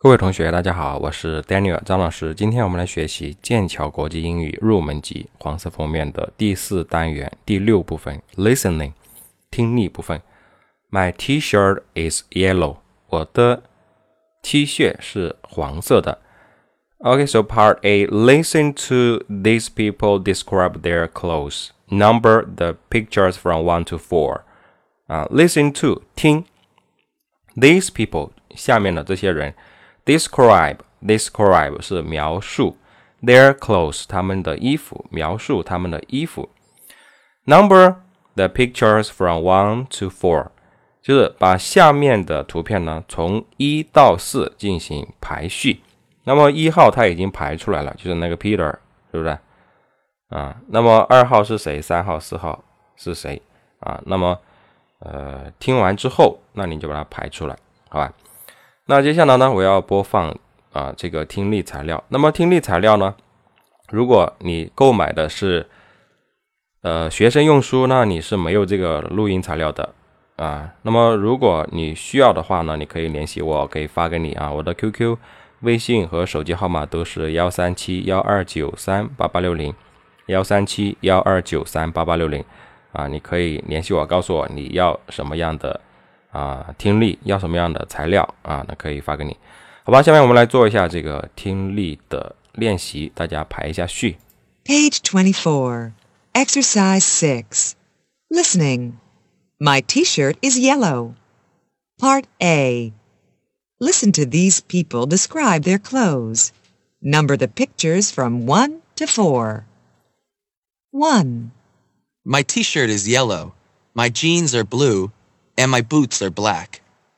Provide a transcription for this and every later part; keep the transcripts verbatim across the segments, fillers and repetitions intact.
各位同学大家好，我是 Daniel 张老师。今天我们来学习剑桥国际英语入门级黄色封面的第四单元第六部分 Listening 听力部分。 My t-shirt is yellow 我的 T 恤是黄色的。 Okay, so part A, listen to these people describe their clothes. Number the pictures from one to four、uh, Listen to 听 These people 下面的这些人Describe, describe 是描述 their clothes 他们的衣服，描述他们的衣服。 Number the pictures from one to four 就是把下面的图片呢从一到四进行排序。那么一号他已经排出来了，就是那个 Peter 是不是啊？那么二号是谁？三号四号是谁啊？那么呃听完之后，那你就把它排出来，好吧？那接下来呢，我要播放啊、呃、这个听力材料。那么听力材料呢，如果你购买的是呃学生用书，那你是没有这个录音材料的啊。那么如果你需要的话呢，你可以联系我，可以发给你啊。我的 Q Q、微信和手机号码都是一三七一二九三八八六零，一三七一二九三八八六零啊，你可以联系我，告诉我你要什么样的。啊，听力要什么样的材料啊？那可以发给你，好吧？下面我们来做一下这个听力的练习，大家排一下序。 Page twenty-four, Exercise six, Listening. My t-shirt is yellow. Part A. Listen to these people describe their clothes. Number the pictures from one to four. one. My t-shirt is yellow. My jeans are blue.And my boots are black.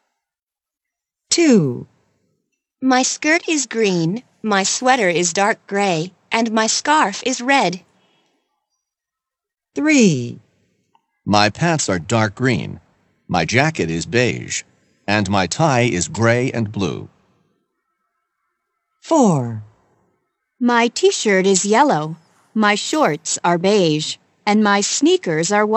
two. My skirt is green, my sweater is dark gray, and my scarf is red. three. My pants are dark green. My jacket is beige. And my tie is gray and blue. four. My t-shirt is yellow, my shorts are beige, and my sneakers are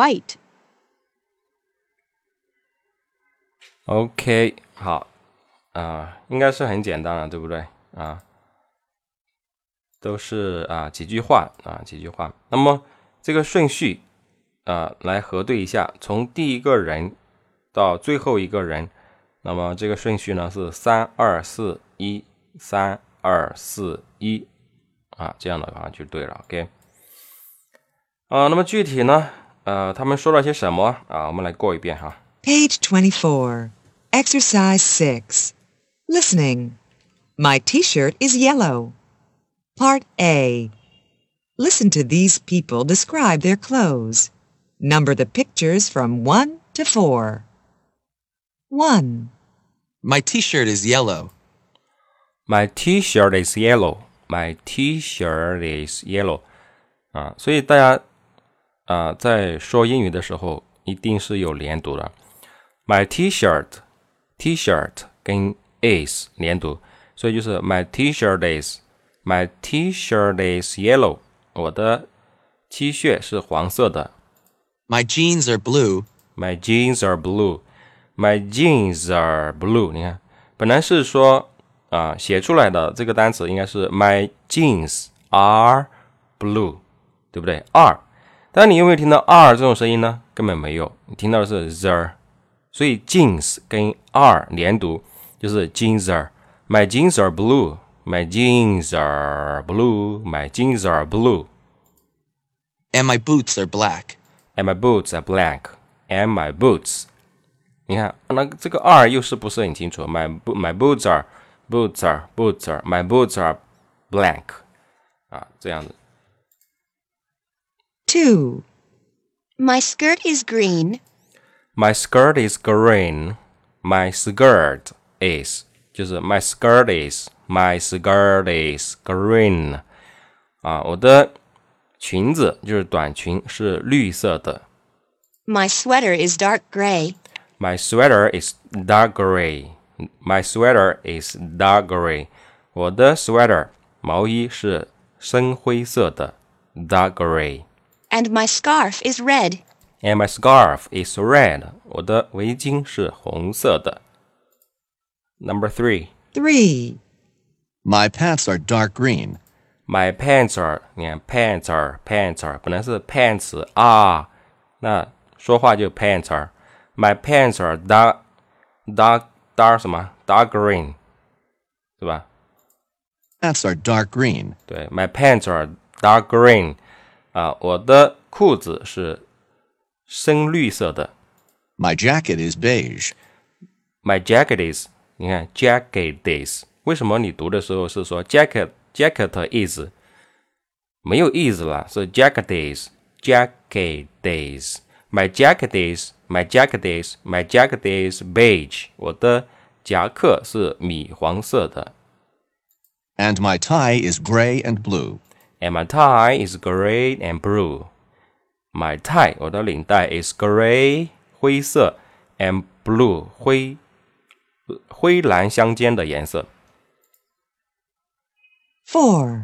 white.OK， 好啊、呃，应该是很简单了，对不对啊？都是啊几句话啊几句话。那么这个顺序啊来核对一下，从第一个人到最后一个人，那么这个顺序呢是三二四一，三二四一啊，这样的话就对了。OK， 啊，那么具体呢，呃，他们说了些什么啊？我们来过一遍哈。 Page twenty-four.Exercise six. Listening. My t-shirt is yellow. Part A. Listen to these people describe their clothes. Number the pictures from one to four. one. My t-shirt is yellow. My t-shirt is yellow. My t-shirt is yellow. 啊，所以大家啊在说英语的时候一定是有连读的。My t-shirt。T-shirt 跟 is 连读，所以就是 my t-shirt is my t-shirt is yellow 我的 T 恤是黄色的。 My jeans are blue My jeans are blue My jeans are blue 你看本来是说啊、呃、写出来的这个单词应该是 my jeans are blue 对不对 are 但你有没有听到 are 这种声音呢？根本没有，你听到的是 the，所以 jeans 跟 are 连读就是 jeans are My jeans are blue My jeans are blue My jeans are blue And my boots are black And my boots are black And my boots 你看那这个 are 又是不是很清楚 My, my boots are Boots are Boots are My boots are black 啊这样子。 two. My skirt is green.My skirt is green. My skirt is 就是 my skirt is my skirt is green 啊，我的裙子就是短裙是绿色的。 My sweater is dark gray. My sweater is dark gray. My sweater is dark gray. 我的 sweater 毛衣是深灰色的 dark gray. And my scarf is red.And my scarf is red. 我的围巾是红色的。Number three. three, My pants are dark green. My pants are 你看 pants are pants are 本来是 pants 啊，那说话就 pants are My pants are dark dark dark 什么 dark green 是吧？ Pants are dark green. 对 My pants are dark green 啊，我的裤子是深绿色的。 My jacket is beige. My jacket is 你看 jacket is 为什么你读的时候是说 jacket jacket is 没有 is 了，是 jacket is jacket is My jacket is my jacket is my jacket is beige 我的夹克是米黄色的。 And my tie is gray and blue. And my tie is gray and blue My tie 我的领带 is gray 灰色 and blue 灰灰蓝相间的颜色。 four,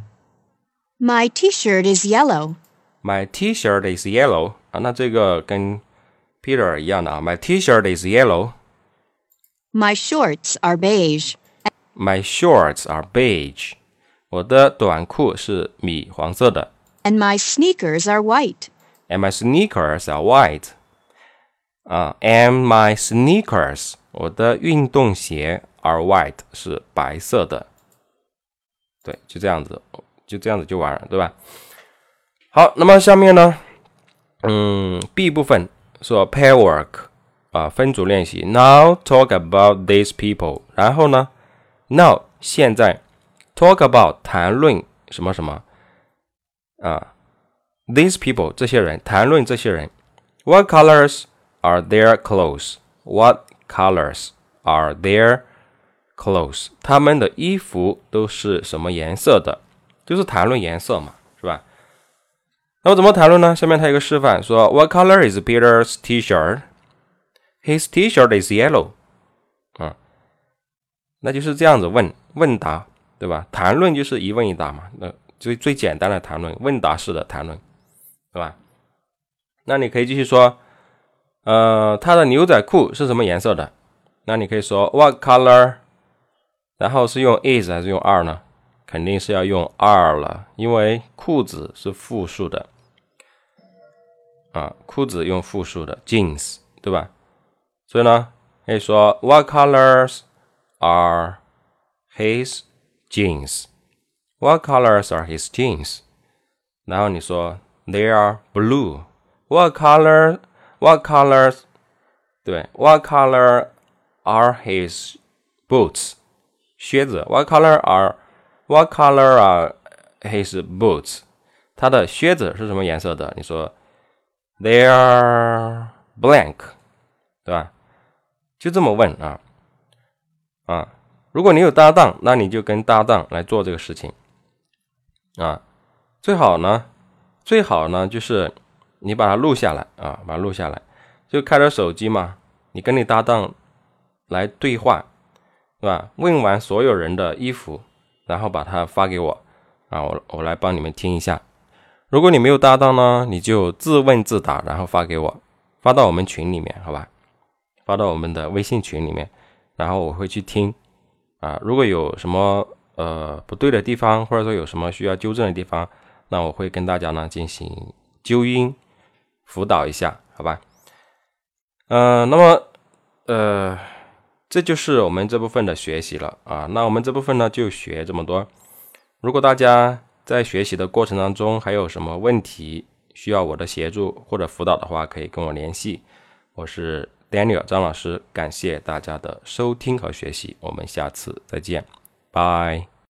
My t-shirt is yellow. My t-shirt is yellow 啊，那这个跟 Peter 一样的啊。My t-shirt is yellow. My shorts are beige. My shorts are beige. 我的短裤是米黄色的。 And my sneakers are white. And my sneakers are white. 啊 ，And my sneakers 我的运动鞋 are white 是白色的。对，就这样子，就这样子就完了，对吧？好，那么下面呢，嗯 ，B 部分说 pair work 啊，分组练习。Now talk about these people。然后呢 ，Now 现在 talk about 谈论什么什么啊 ，these people 这些人，谈论这些人。What colors are their clothes? What colors are their clothes? 他们的衣服都是什么颜色的？就是谈论颜色嘛，是吧？那么怎么谈论呢？下面他有个示范，说 What color is Peter's t-shirt? His t-shirt is yellow. 啊，那就是这样子问问答，对吧？谈论就是一问一答嘛，那最最简单的谈论，问答式的谈论，对吧？那你可以继续说，呃，他的牛仔裤是什么颜色的？那你可以说 What color? 然后是用 is 还是用 are 呢？肯定是要用 are 了，因为裤子是复数的啊，裤子用复数的 jeans 对吧？所以呢可以说 What colors are his jeans? What colors are his jeans? 然后你说 They are blue. What color What colors 对 What color are his boots? 靴子 What color are What color are his boots? 他的靴子是什么颜色的？你说 They are blank 对吧？就这么问啊啊！如果你有搭档，那你就跟搭档来做这个事情啊。最好呢，最好呢就是你把它录下来啊，把它录下来，就开着手机嘛，你跟你搭档来对话，对吧？问完所有人的衣服，然后把它发给我啊，我我来帮你们听一下。如果你没有搭档呢，你就自问自答，然后发给我，发到我们群里面，好吧？发到我们的微信群里面，然后我会去听啊。如果有什么呃不对的地方，或者说有什么需要纠正的地方，那我会跟大家呢进行纠音辅导一下，好吧？呃，那么呃，这就是我们这部分的学习了啊。那我们这部分呢就学这么多。如果大家在学习的过程当中还有什么问题需要我的协助或者辅导的话，可以跟我联系。我是 Daniel 张老师，感谢大家的收听和学习，我们下次再见，拜。